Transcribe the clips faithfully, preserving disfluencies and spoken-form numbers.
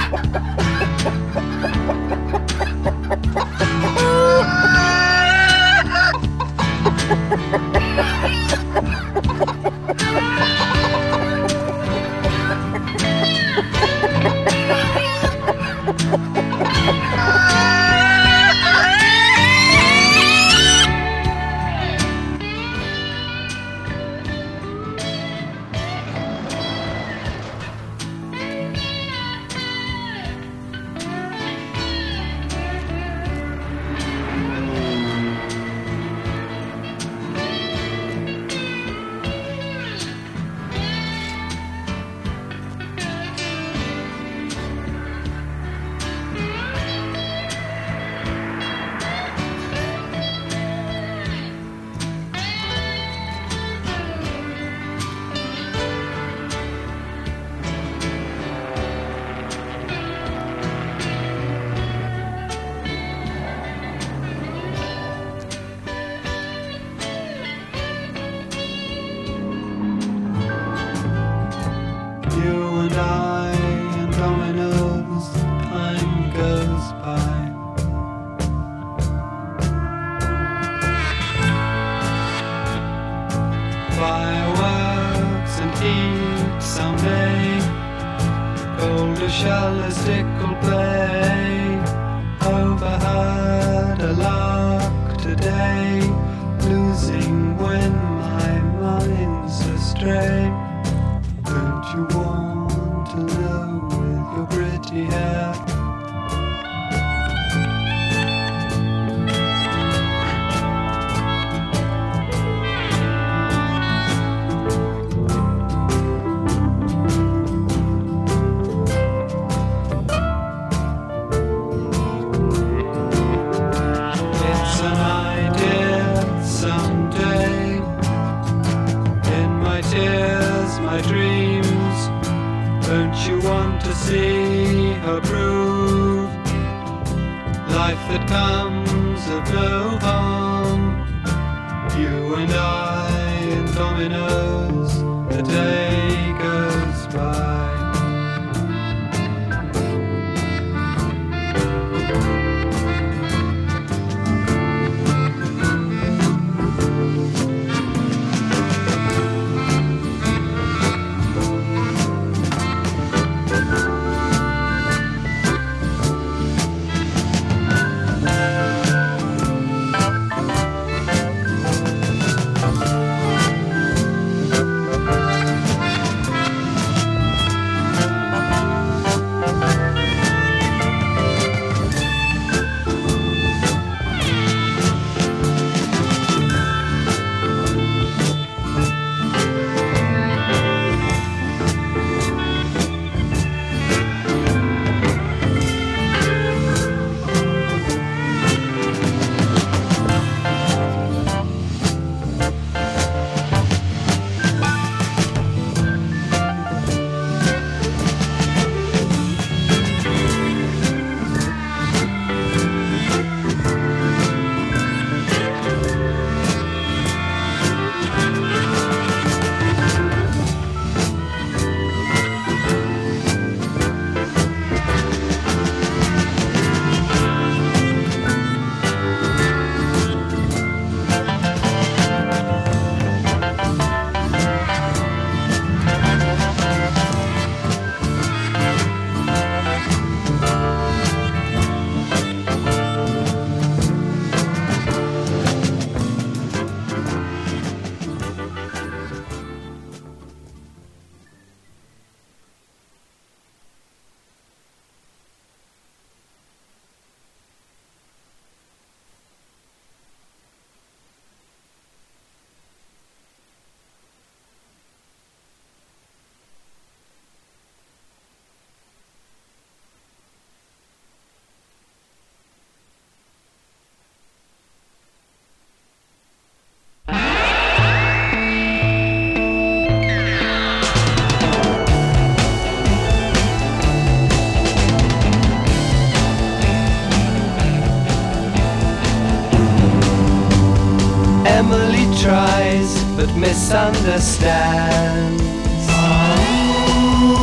tries but misunderstands.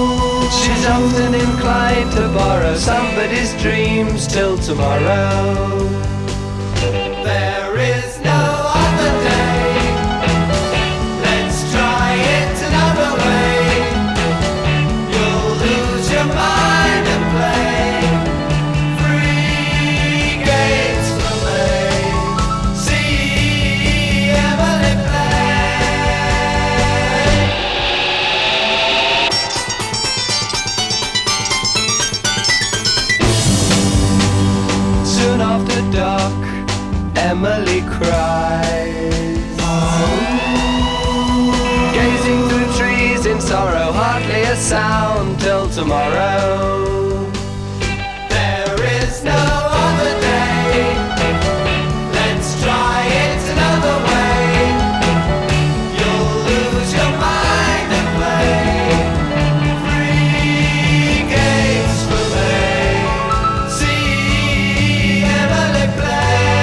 She's often inclined to borrow somebody's dreams till tomorrow. There is no other day. Let's try it another way. You'll lose your mind and play free games for me. See Emily play. Soon after dark, Emily cries, oh. Gazing through trees in sorrow, hardly a sound till tomorrow. There is no other day. Let's try it another way. You'll lose your mind and play free games for me. See Emily play.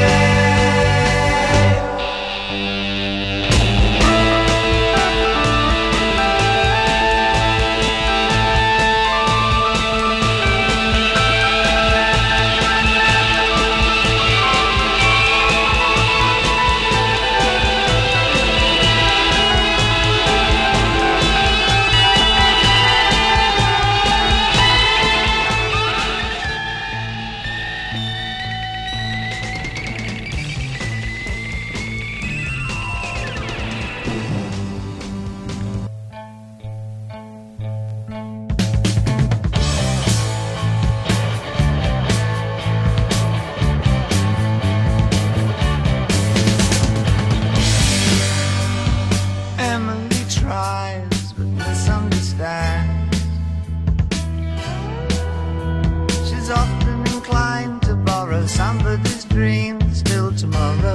Emily tries but misunderstands. She's often inclined to borrow somebody's dreams till tomorrow.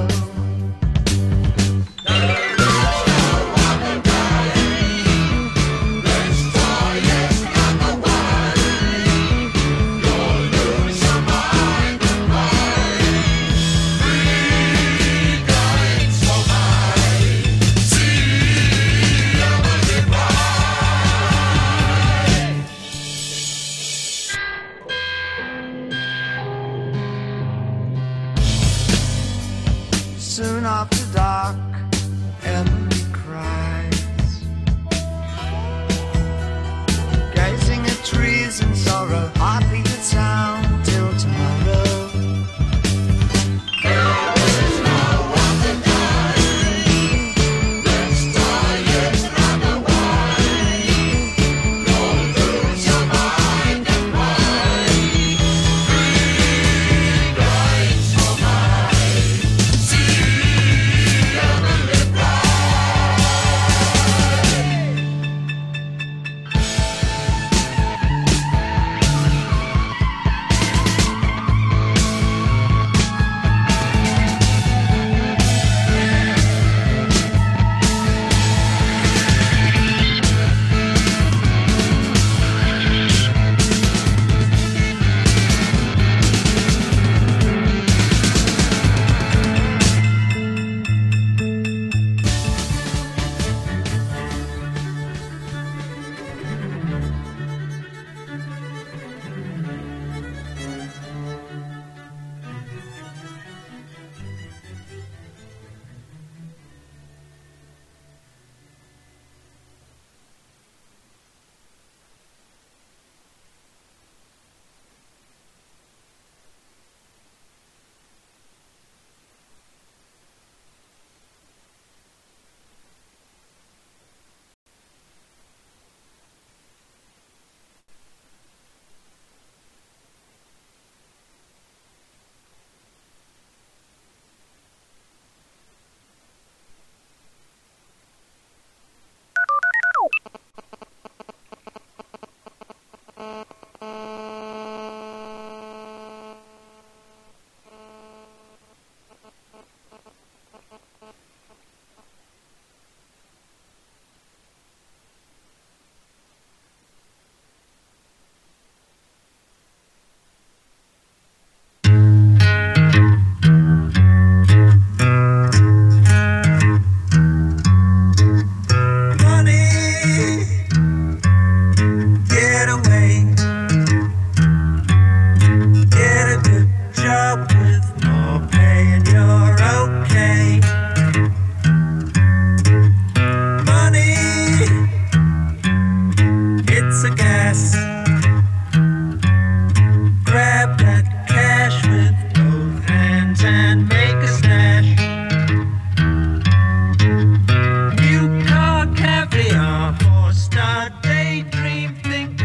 Soon after dark, Emily cries, gazing at trees in sorrow, hardly a sound till tomorrow.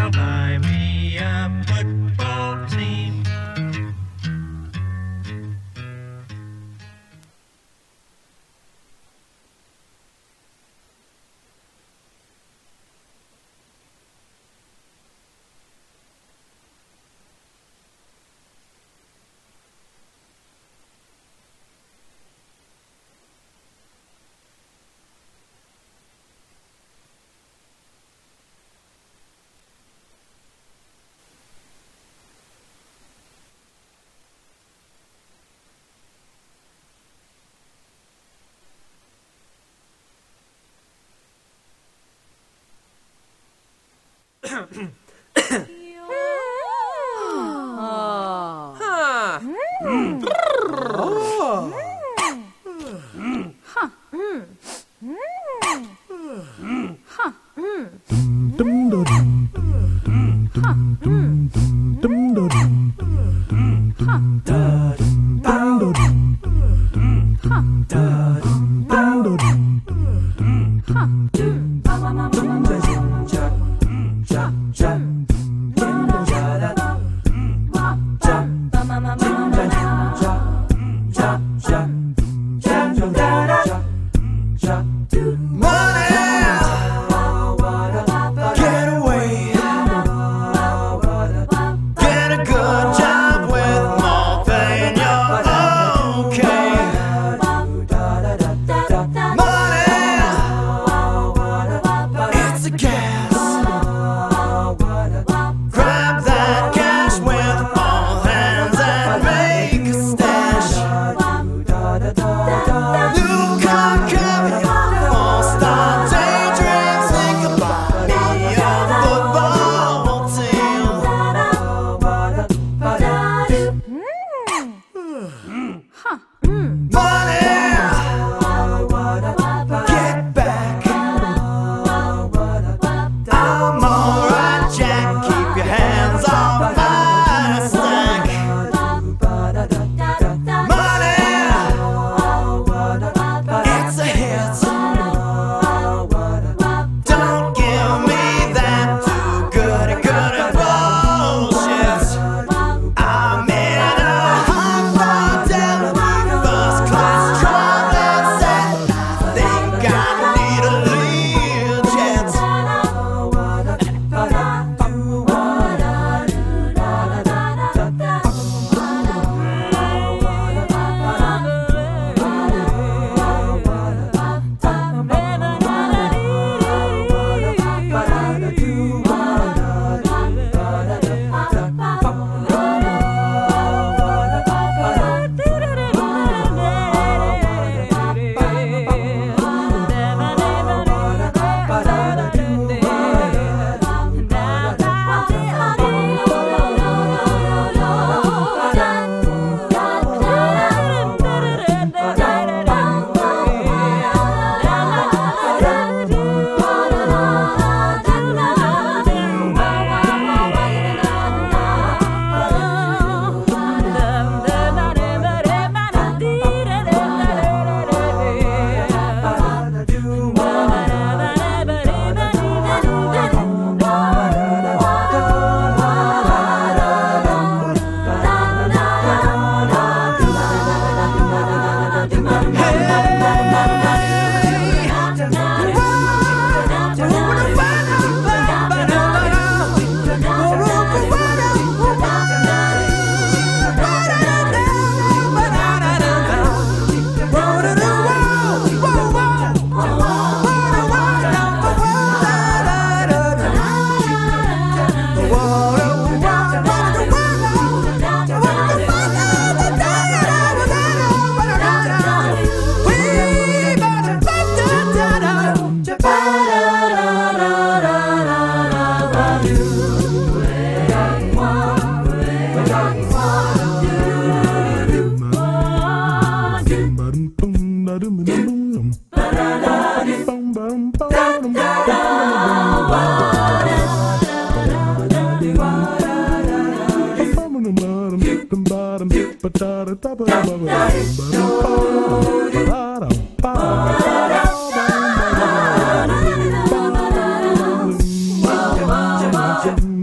buy me a football team. Jim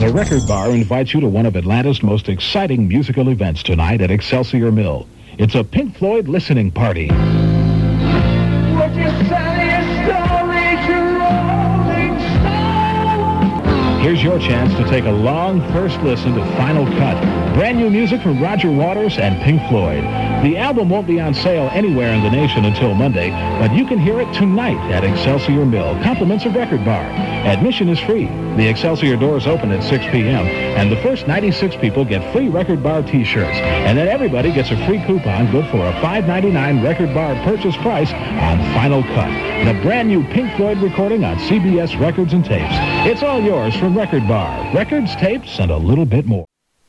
The Record Bar invites you to one of Atlanta's most exciting musical events tonight at Excelsior Mill. It's a Pink Floyd listening party. Would you sell your story to Rolling Stone? Here's your chance to take a long first listen to Final Cut. Brand new music from Roger Waters and Pink Floyd. The album won't be on sale anywhere in the nation until Monday, but you can hear it tonight at Excelsior Mill. Compliments of Record Bar. Admission is free. The Excelsior doors open at six p.m., and the first ninety-six people get free Record Bar t-shirts. And then everybody gets a free coupon good for a five ninety-nine Record Bar purchase price on Final Cut, the brand new Pink Floyd recording on C B S Records and Tapes. It's all yours from Record Bar. Records, tapes, and a little bit more.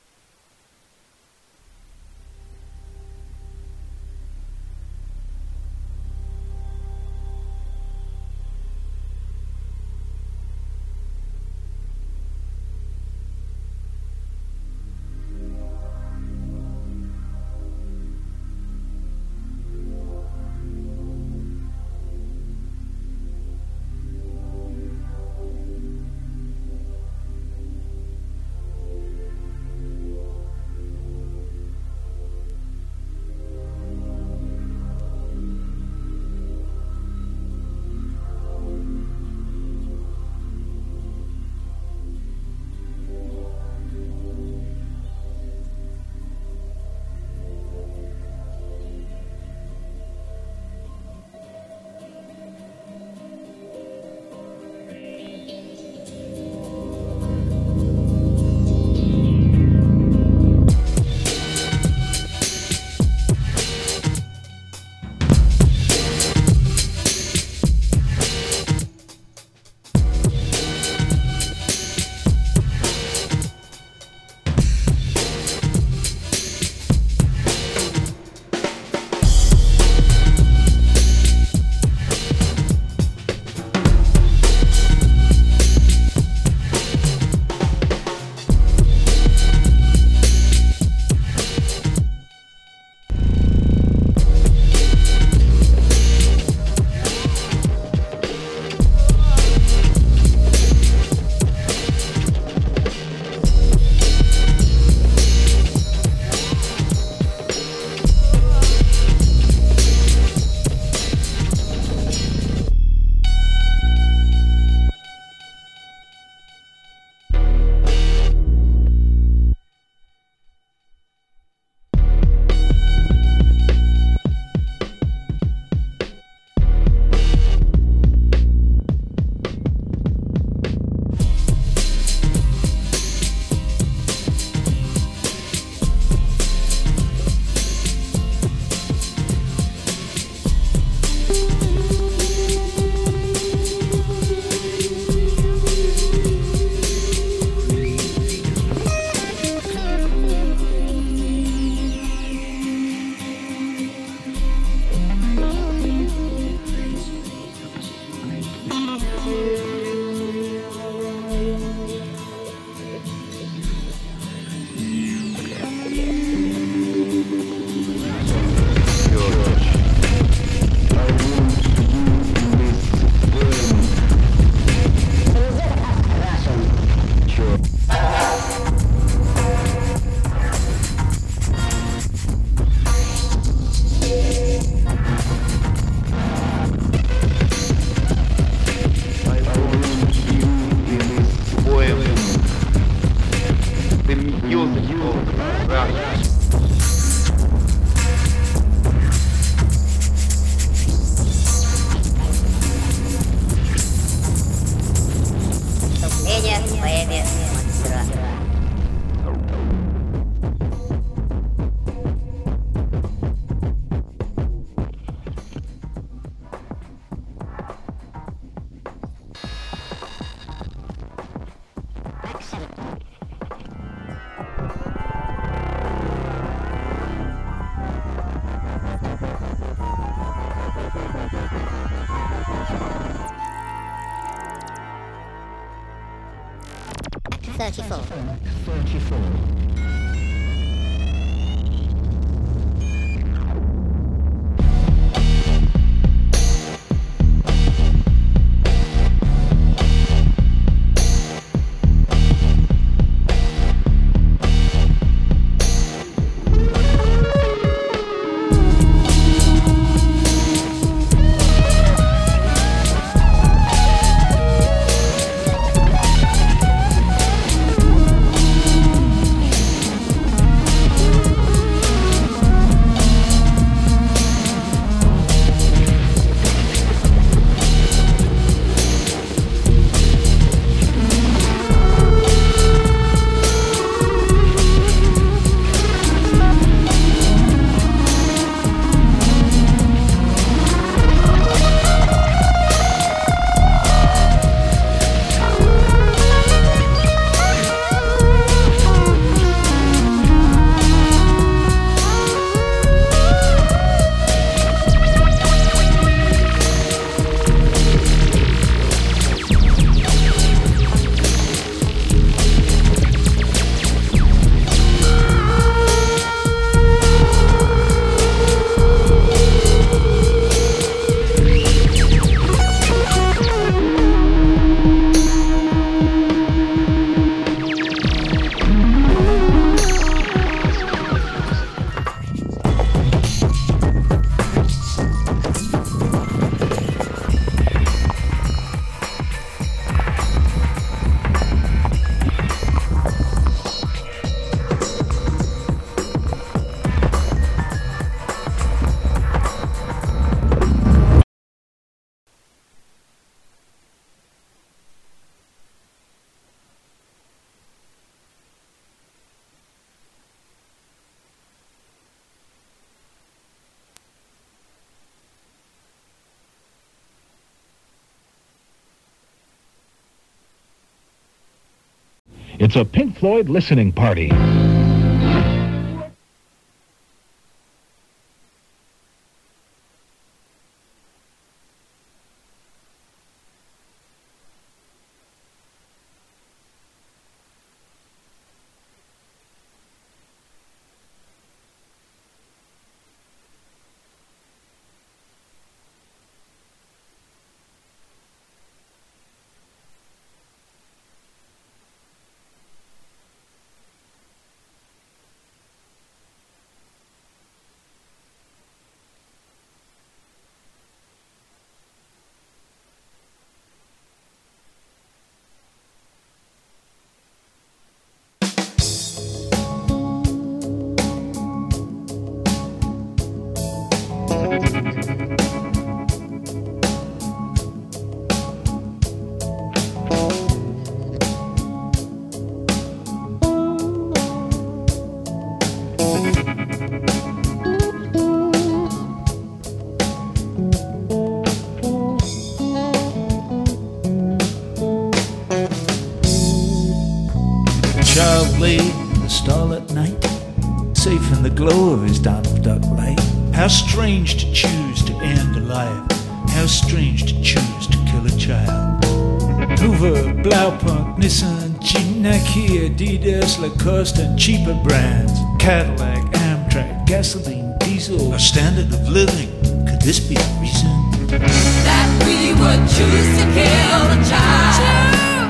thirty-four. thirty-four. It's a Pink Floyd listening party. Child lay in the starlit night, safe in the glow of his Donald Duck light. How strange to choose to end a life, how strange to choose to kill a child. Hoover, Blaupunk, Nissan, Jeep, Nike, Adidas, Lacoste and cheaper brands. Cadillac, Amtrak, gasoline, diesel, our standard of living. Could this be the reason that we would choose to kill a child?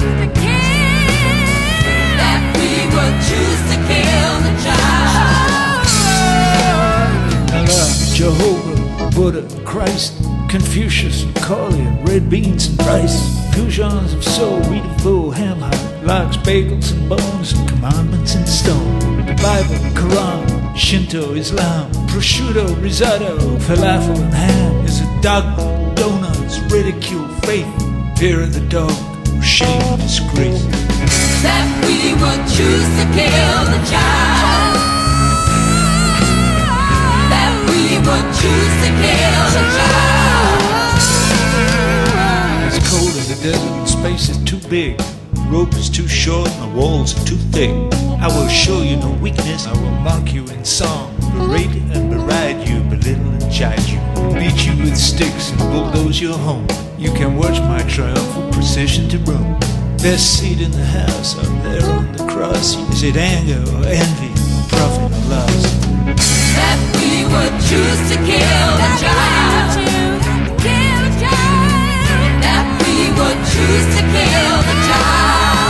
Would choose to kill the child. Allah, Jehovah, Buddha, Christ, Confucius, Macaulay, and red beans and rice. Goujons of soul, wheat of bull, ham hock, lox, bagels and bones, and commandments in stone. The Bible, Quran, Shinto, Islam, prosciutto, risotto, falafel and ham. Is it dogma, donuts, ridicule, faith, fear of the dog, or shame, disgrace? That we would choose to kill the child. That we would choose to kill the child. It's cold in the desert and space is too big. The rope is too short and the walls are too thick. I will show you no weakness. I will mock you in song, berate and beride you, belittle and chide you, beat you with sticks and bulldoze your home. You can watch my triumphal procession to Rome. Best seat in the house, up there on the cross. Is it anger or envy, or profit or loss? That we would choose to kill the child. That we would choose to kill the child.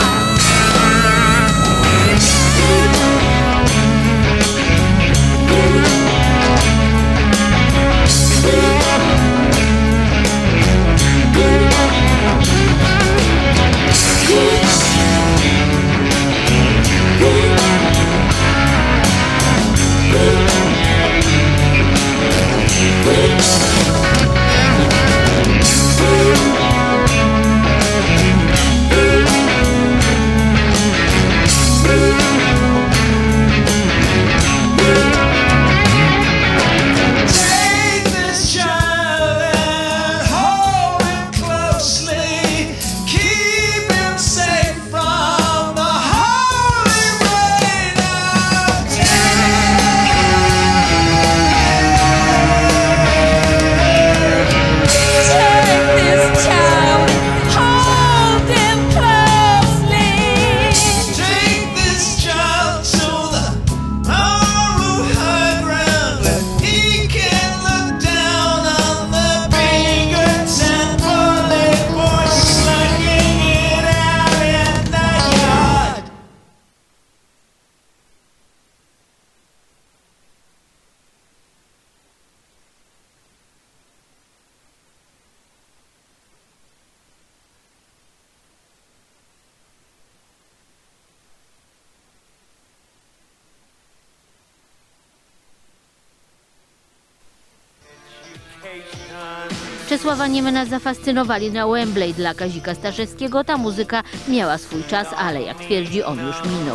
Czesława Niemena zafascynowali na Wembley dla Kazika Staszewskiego. Ta muzyka miała swój czas, ale jak twierdzi, on już minął.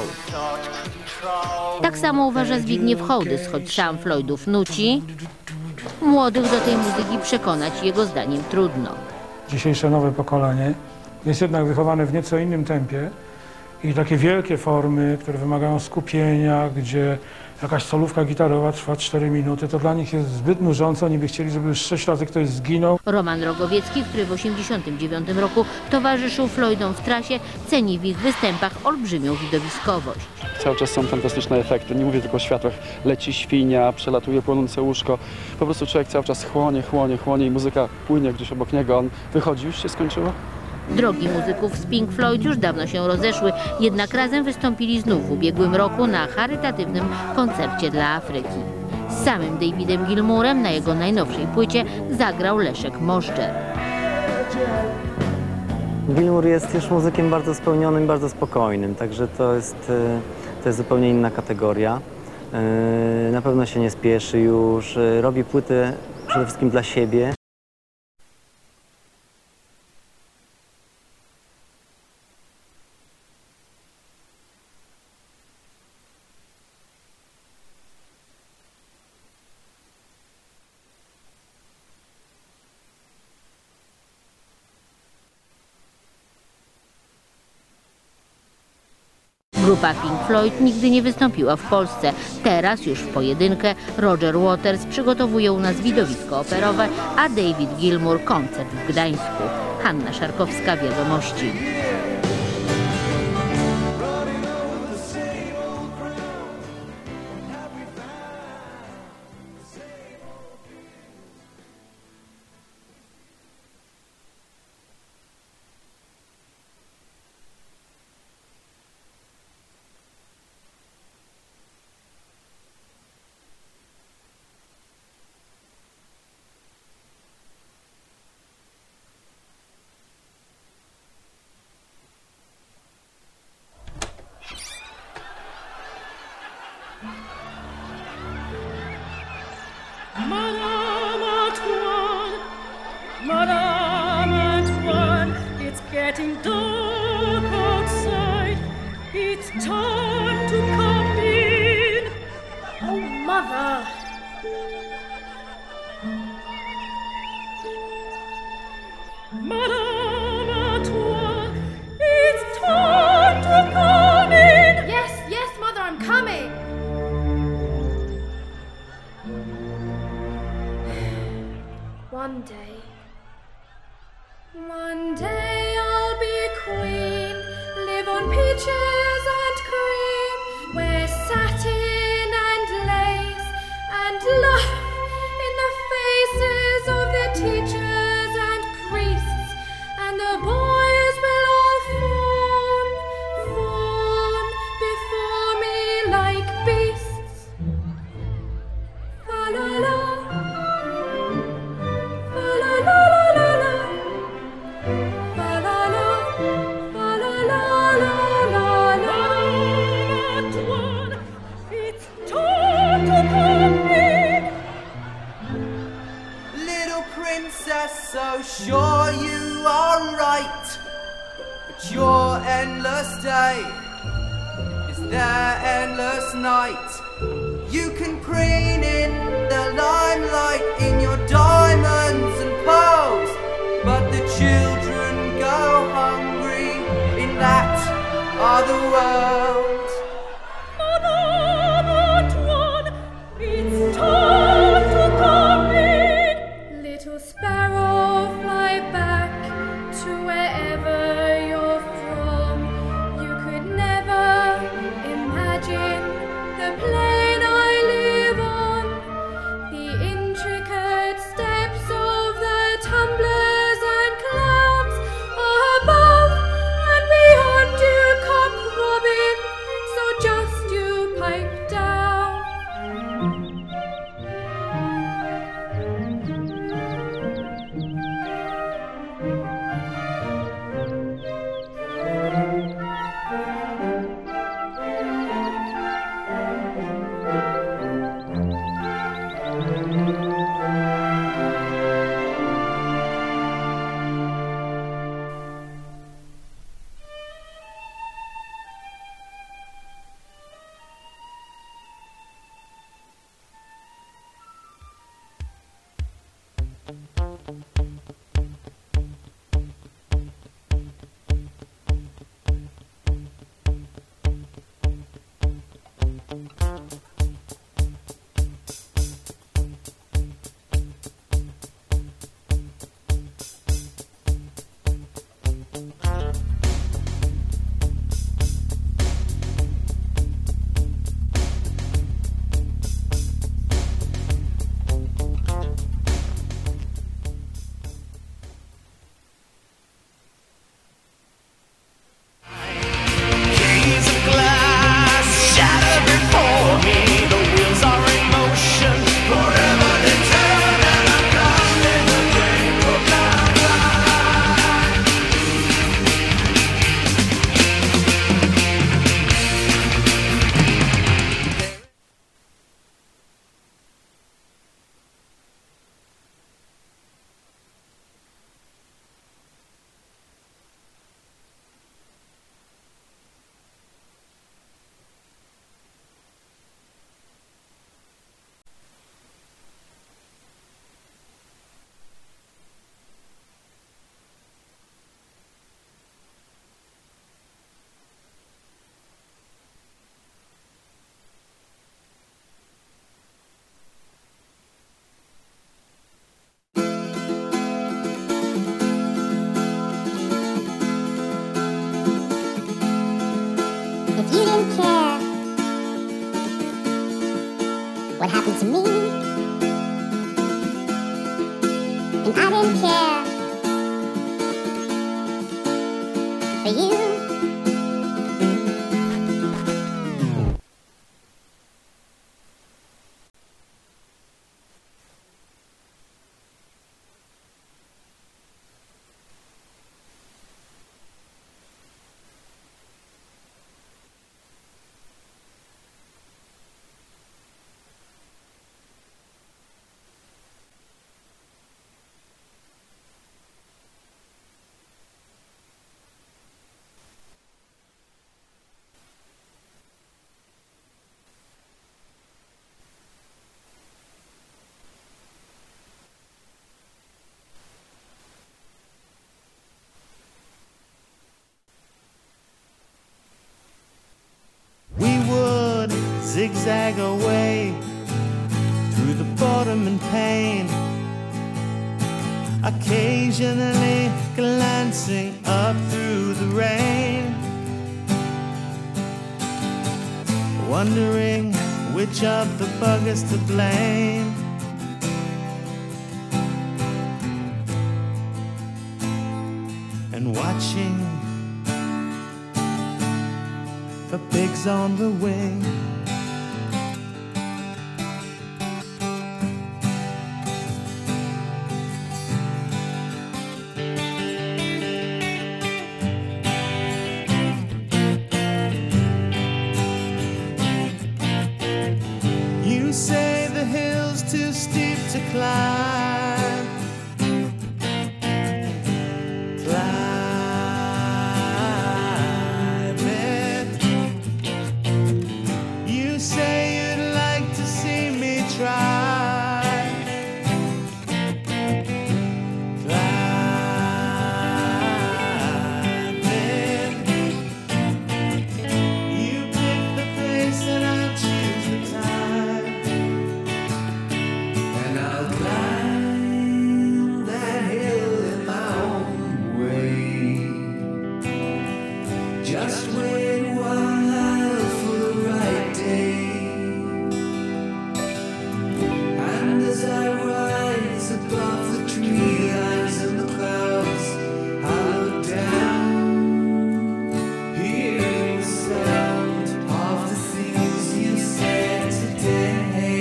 Tak samo uważa Zbigniew Hołdys, choć sam Floydów nuci. Młodych do tej muzyki przekonać jego zdaniem trudno. Dzisiejsze nowe pokolenie jest jednak wychowane w nieco innym tempie i takie wielkie formy, które wymagają skupienia, gdzie jakaś solówka gitarowa trwa cztery minuty, to dla nich jest zbyt nużące. Oni by chcieli, żeby już sześć razy ktoś zginął. Roman Rogowiecki, który w osiemdziesiątym dziewiątym roku towarzyszył Floydom w trasie, ceni w ich występach olbrzymią widowiskowość. Cały czas są fantastyczne efekty, nie mówię tylko o światłach. Leci świnia, przelatuje płonące łóżko. Po prostu człowiek cały czas chłonie, chłonie, chłonie i muzyka płynie gdzieś obok niego. On wychodzi, już się skończyło? Drogi muzyków z Pink Floyd już dawno się rozeszły, jednak razem wystąpili znów w ubiegłym roku na charytatywnym koncercie dla Afryki. Z samym Davidem Gilmourem na jego najnowszej płycie zagrał Leszek Moszczer. Gilmour jest już muzykiem bardzo spełnionym, bardzo spokojnym, także to jest, to jest zupełnie inna kategoria. Na pewno się nie spieszy już, robi płyty przede wszystkim dla siebie. Grupa Pink Floyd nigdy nie wystąpiła w Polsce. Teraz już w pojedynkę Roger Waters przygotowuje u nas widowisko operowe, a David Gilmour koncert w Gdańsku. Hanna Szarkowska, Wiadomości. Madame Antoine, Madame Antoine, it's getting dark outside. It's time to come in. Oh, Mother. Madame Antoine, it's time to come in. Yes, yes, Mother, I'm coming. One day, one day I'll be queen, live on peaches and cream, wear satin and lace, and laugh in the faces of the teachers and priests, and the boys will all fawn, fawn before me like beasts. La la la. So sure you are right, but your endless day is their endless night. You can preen in the limelight in your diamonds and pearls, but the children go hungry in that other world. Madame Antoine, it's time to come in. Little sparrow, fly back to wherever you're from. You could never imagine the plane I live on, the intricate steps of the tumblers and clouds above and beyond you come Robin, so just you pipe down. Thank you. Thank you. for you. Zigzag away through the boredom and pain, occasionally glancing up through the rain, wondering which of the buggers to blame. And watching for pigs on the wing. You say the hill's too steep to climb. Climb it. You say you'd like to see me try. Climb it. You pick the place and I choose the time. And I'll climb that hill in my own way. Just wait a while for the right day. And as I rise above the tree lines and the clouds, I look down, hearing the sound of the things you said today.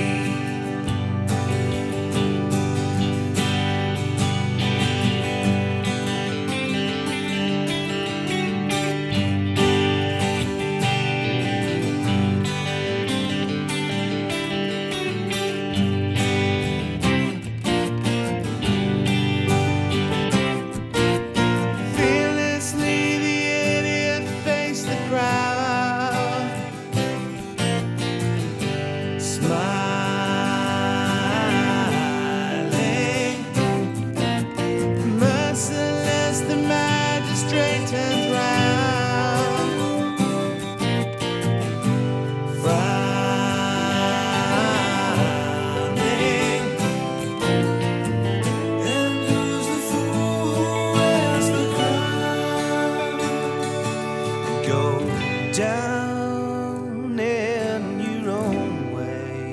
Fearlessly the idiot faced the crowd, smiling. Merciless the magistrate turns round, frowning. And who's the fool who wears the crown? Go down in your own way.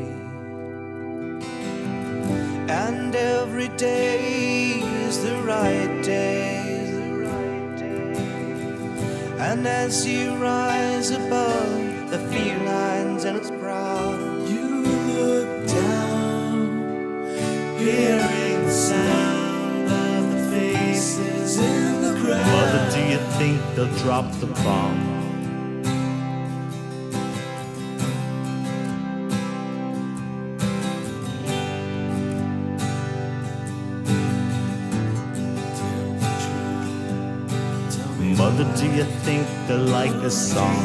And every day is the right day. And as you rise above the felines and its proud, you look down, hearing the sound of the faces in the crowd. Mother, do you think they'll drop the bomb? Mother, do you think they'll like the song?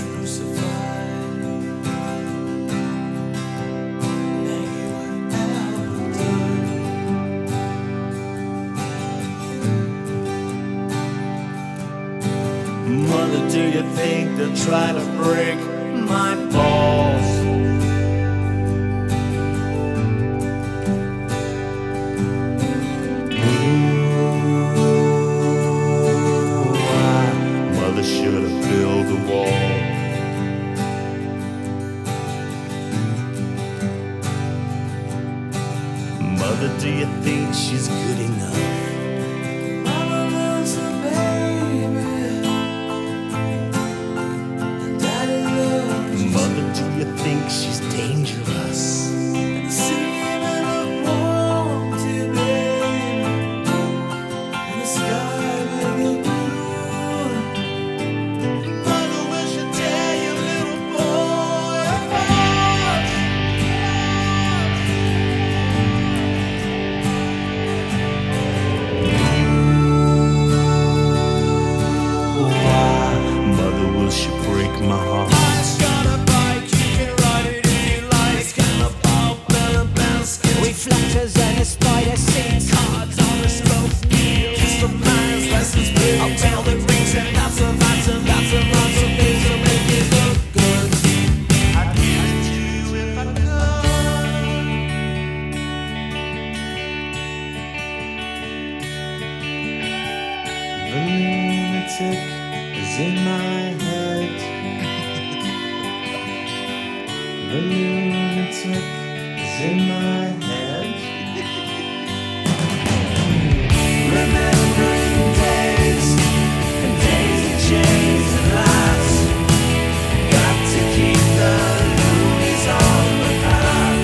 Mother, do you think they'll try to break my balls? Mother should have built a wall. Mother, do you think she's good enough? Mama wants a baby. The lunatic is in my head. The lunatic is in my head. Remembering days and days that change and last. Got to keep the loonies on the path.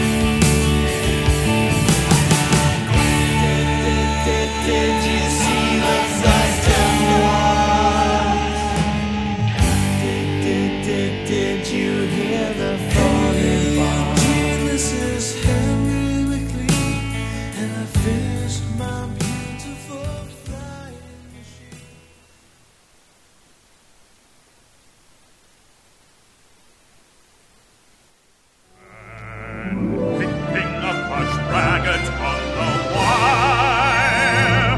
Did, did, did, did you see the dust and walls? Did, did, did, did you hear the falling bars? This is Henry McLean, and I finished my beautiful flying machine. Picking up a dragon on the wire.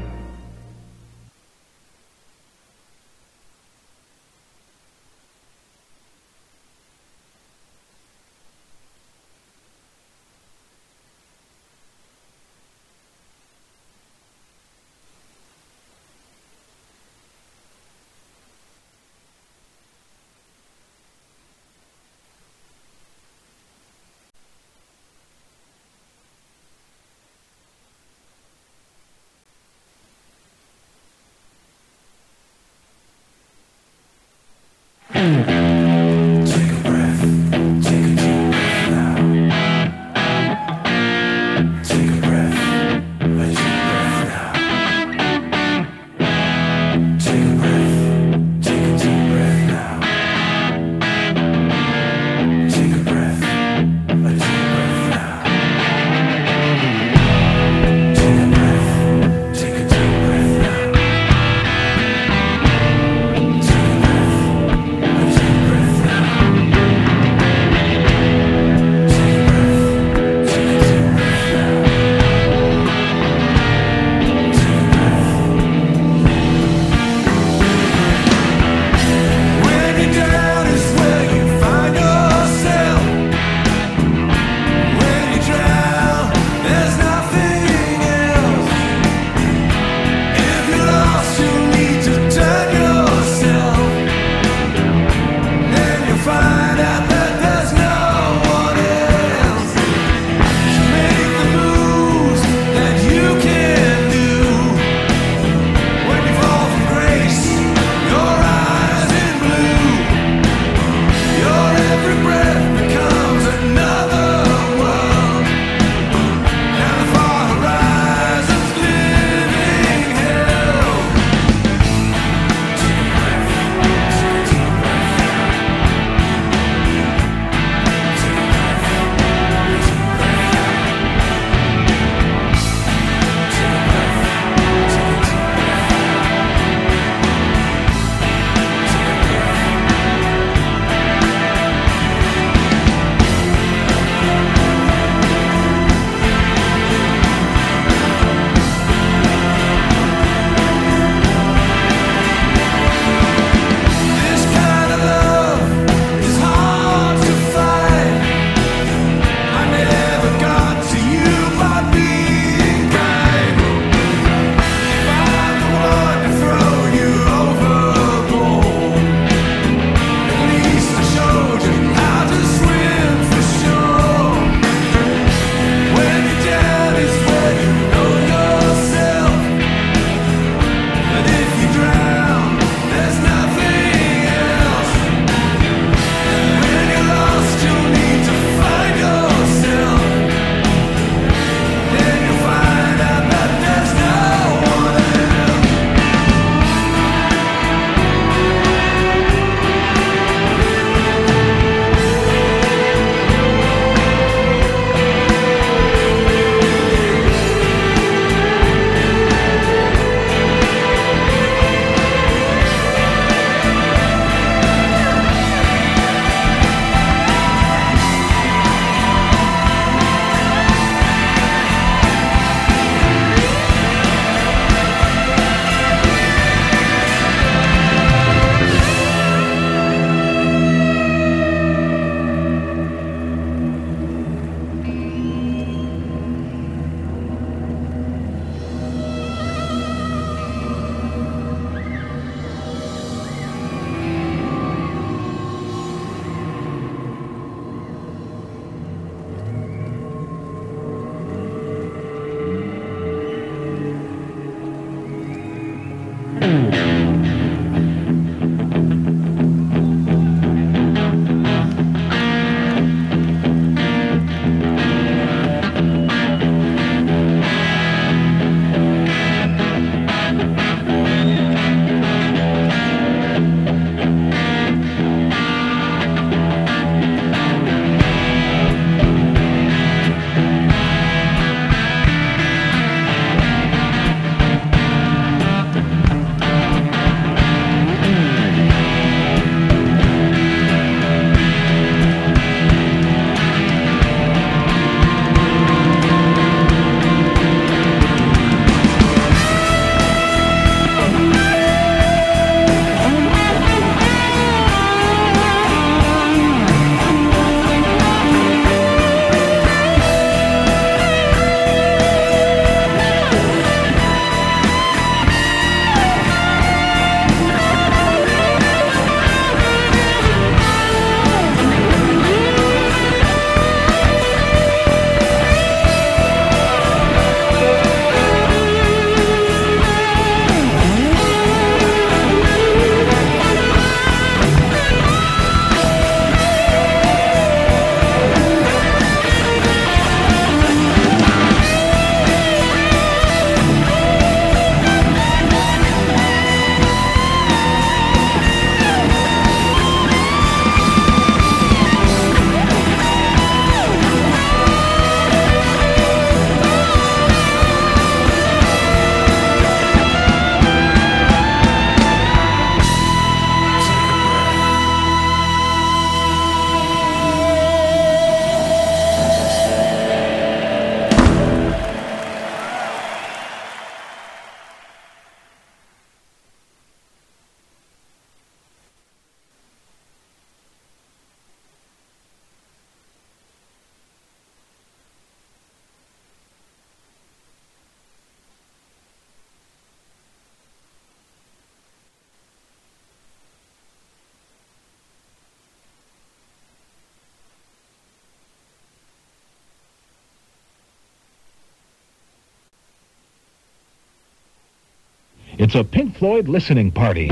Take a breath, take a deep breath now. Take a breath, a deep breath now. Take a breath, take a deep breath now. Take a breath, a deep breath now. Take a breath, take a deep breath now. Take a breath, a deep breath. It's a Pink Floyd listening party.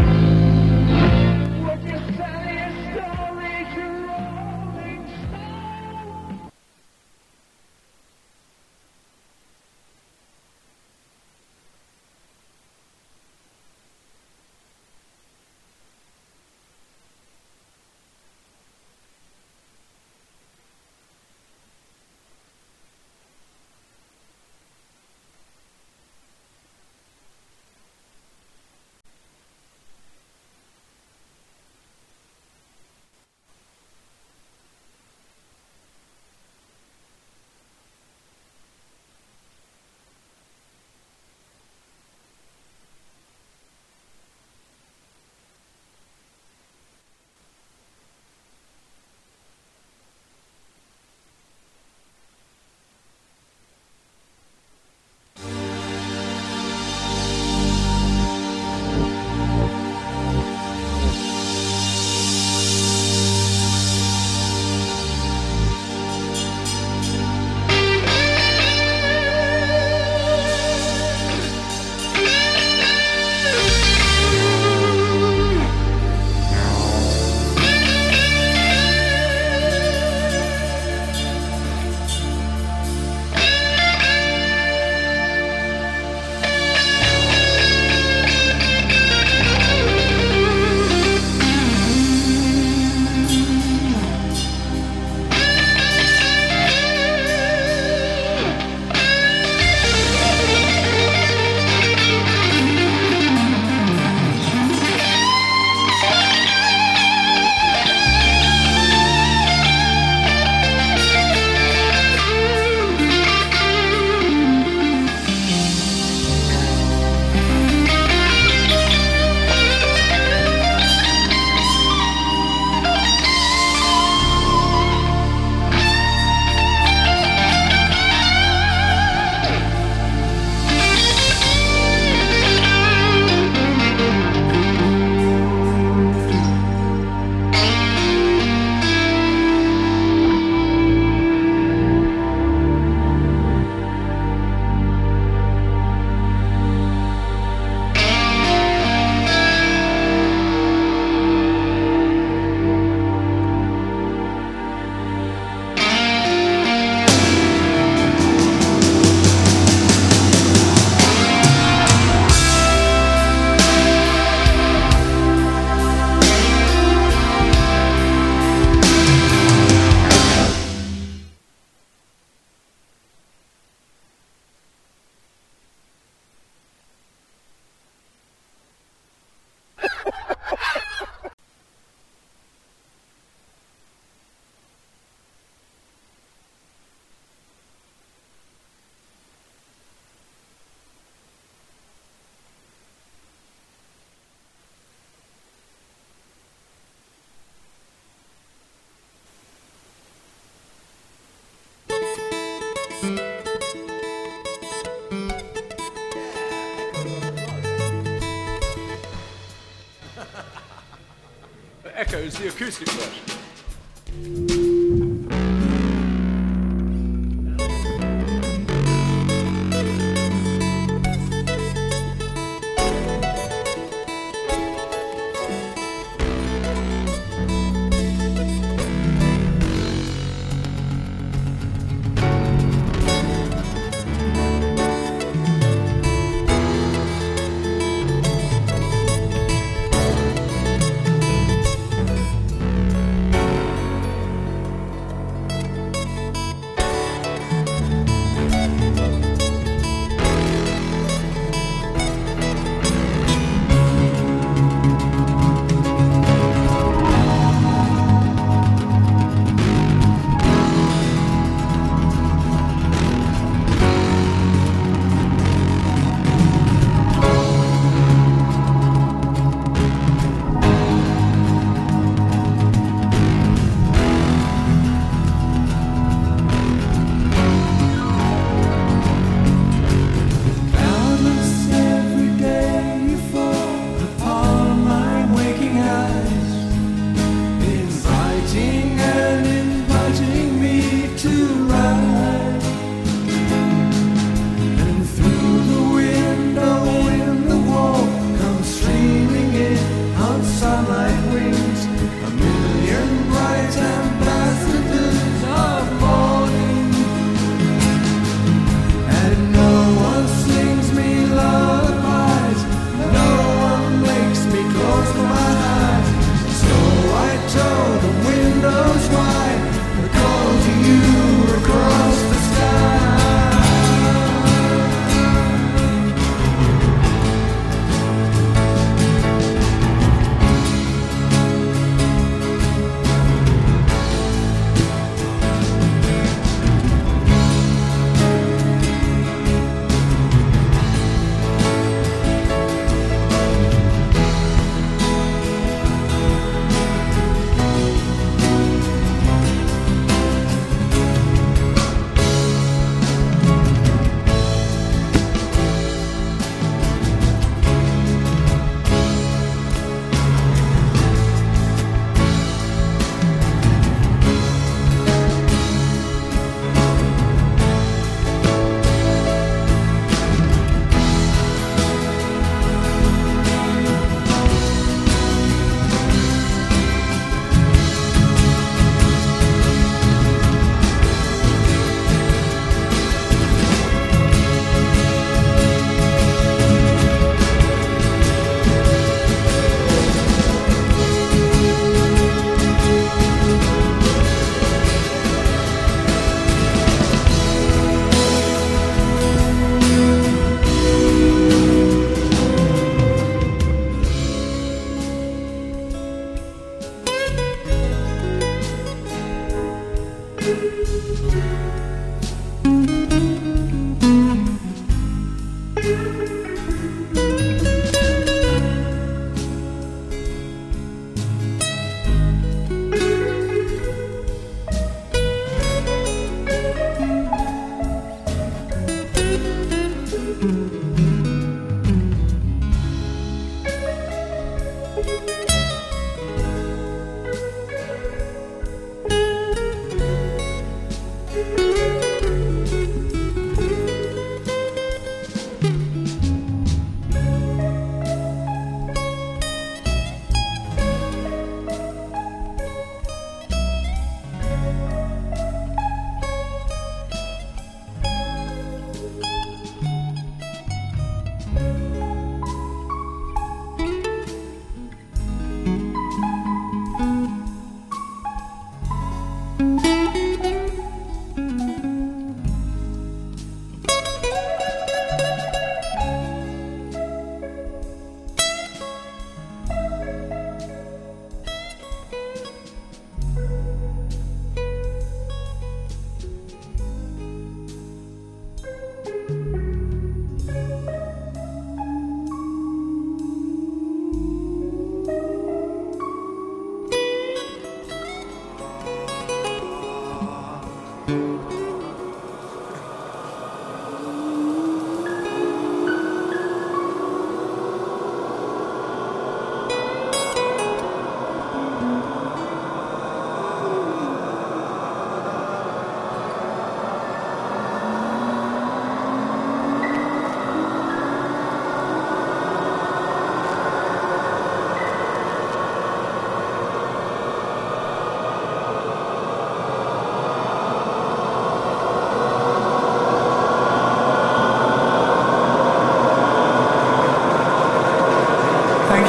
Echoes, the acoustic version.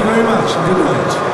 very much. Good night.